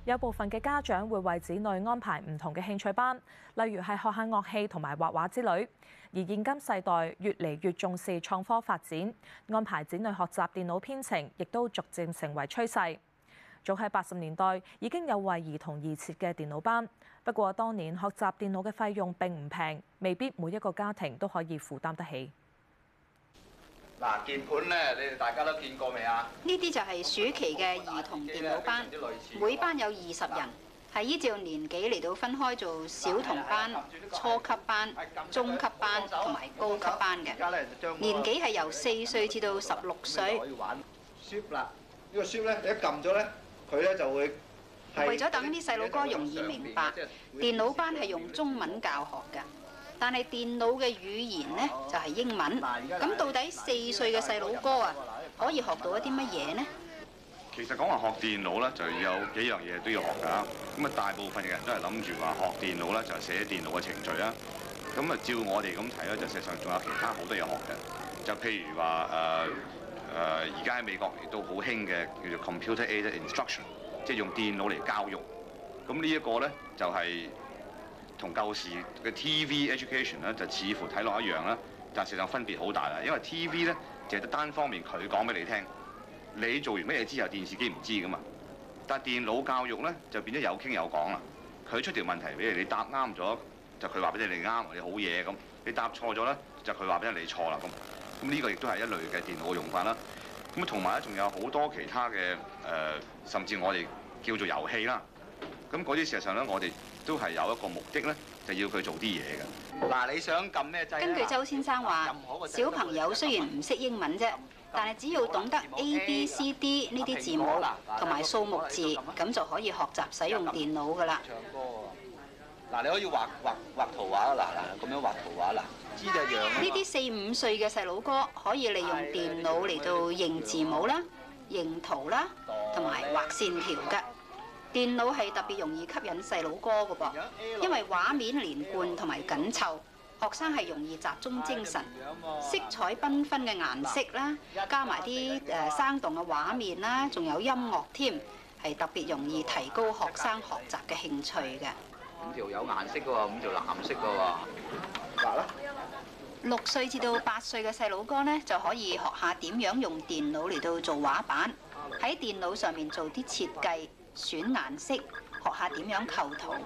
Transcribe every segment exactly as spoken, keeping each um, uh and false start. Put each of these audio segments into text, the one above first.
有部分嘅家長會為子女安排唔同嘅興趣班，例如係學下樂器同埋畫畫之類。而現今世代越嚟越重視創科發展，安排子女學習電腦編程，亦都逐漸成為趨勢。早喺八十年代已經有為兒童而設嘅電腦班，不過當年學習電腦嘅費用並唔平，未必每一個家庭都可以負擔得起。 嗱，鍵盤咧，你哋大家都見過未啊？ 呢啲就係暑期嘅兒童電腦班，每班有二十人，係依照年紀嚟到分開做小童班、初級班、中級班同埋高級班嘅。年紀係由四歲至到十六歲。 可以玩 Shift 啦，呢個 Shift 咧，你一撳咗咧，佢咧就會。 為咗等啲細路哥容易明白，電腦班係用中文教學嘅。但係電腦嘅語言呢，就係英文，咁到底四歲嘅細佬哥啊可以學到一啲乜嘢呢？ 其實講話學電腦咧，就有幾樣嘢都要學㗎。咁啊，大部分嘅人都係諗住話學電腦咧，就係寫電腦嘅程序啦。咁啊，照我哋咁睇咧，就事實上仲有其他好多嘢學嘅。就譬如話誒誒，而家喺美國亦都好興嘅叫做 computer aided instruction， 即係用電腦嚟教育。咁呢一個咧就係、是。同舊時嘅 T V education 咧，就似乎睇落一樣啦，但係實際上分別好大啦。因為 T V 咧，淨係得單方面佢講俾你聽，你做完乜嘢之後，電視機唔知噶嘛。但係電腦教育咧，就變咗有傾有講啦。佢出條問題俾你，你答啱咗，就佢話俾你你啱，你好嘢咁。你答錯咗咧，就佢話俾你你錯啦咁。咁呢個亦都係一類嘅電腦嘅用法啦。咁啊，同埋咧，仲有好多其他嘅誒、呃，甚至我哋叫做遊戲啦。咁嗰啲事實上咧，我哋都係有一個目的咧，就要佢做啲嘢嘅。 嗱，你想撳咩掣？ 根據周先生話，小朋友雖然唔識英文啫，但係只要懂得 A B C D 呢啲字母同埋數目字，咁就可以學習使用電腦㗎啦。 唱歌嗱，你可以畫畫畫圖畫，嗱嗱咁樣畫圖畫，嗱，知就樣。 呢啲四五歲嘅細佬哥可以利用電腦嚟到認字母啦、認圖啦，同埋畫線條㗎。電腦係特別容易吸引細佬哥嘅噃，因為畫面連貫同埋緊湊，學生係容易集中精神。色彩繽紛嘅顏色啦，加埋啲誒生動嘅畫面啦，仲有音樂添，係特別容易提高學生學習嘅興趣嘅。 五條有顏色嘅喎，五條藍色嘅喎。嗱啦， 六歲至到八歲嘅細佬哥呢，就可以學下點樣用電腦嚟到做畫板，喺電腦上面做啲設計。選顏色，學下點樣構圖。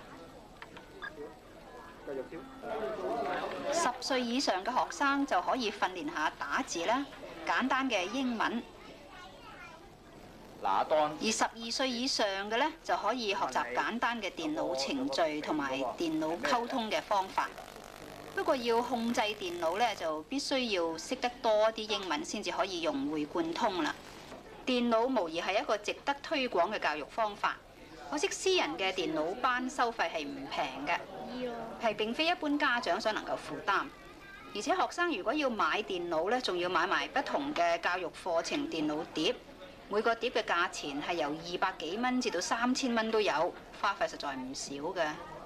十歲以上嘅學生就可以訓練下打字啦，簡單嘅英文。而十二歲以上嘅呢，就可以學習簡單嘅電腦程序同埋電腦溝通嘅方法。不過要控制電腦呢，就必須要識得多啲英文先至可以融會貫通啦。電腦無疑係一個值得推廣嘅教育方法，可惜私人嘅電腦班收費係唔平嘅，係並非一般家長所能夠負擔。而且學生如果要買電腦咧，仲要買埋不同嘅教育課程電腦碟，每個碟嘅價錢係由二百幾蚊至到三千蚊都有，花費實在唔少嘅。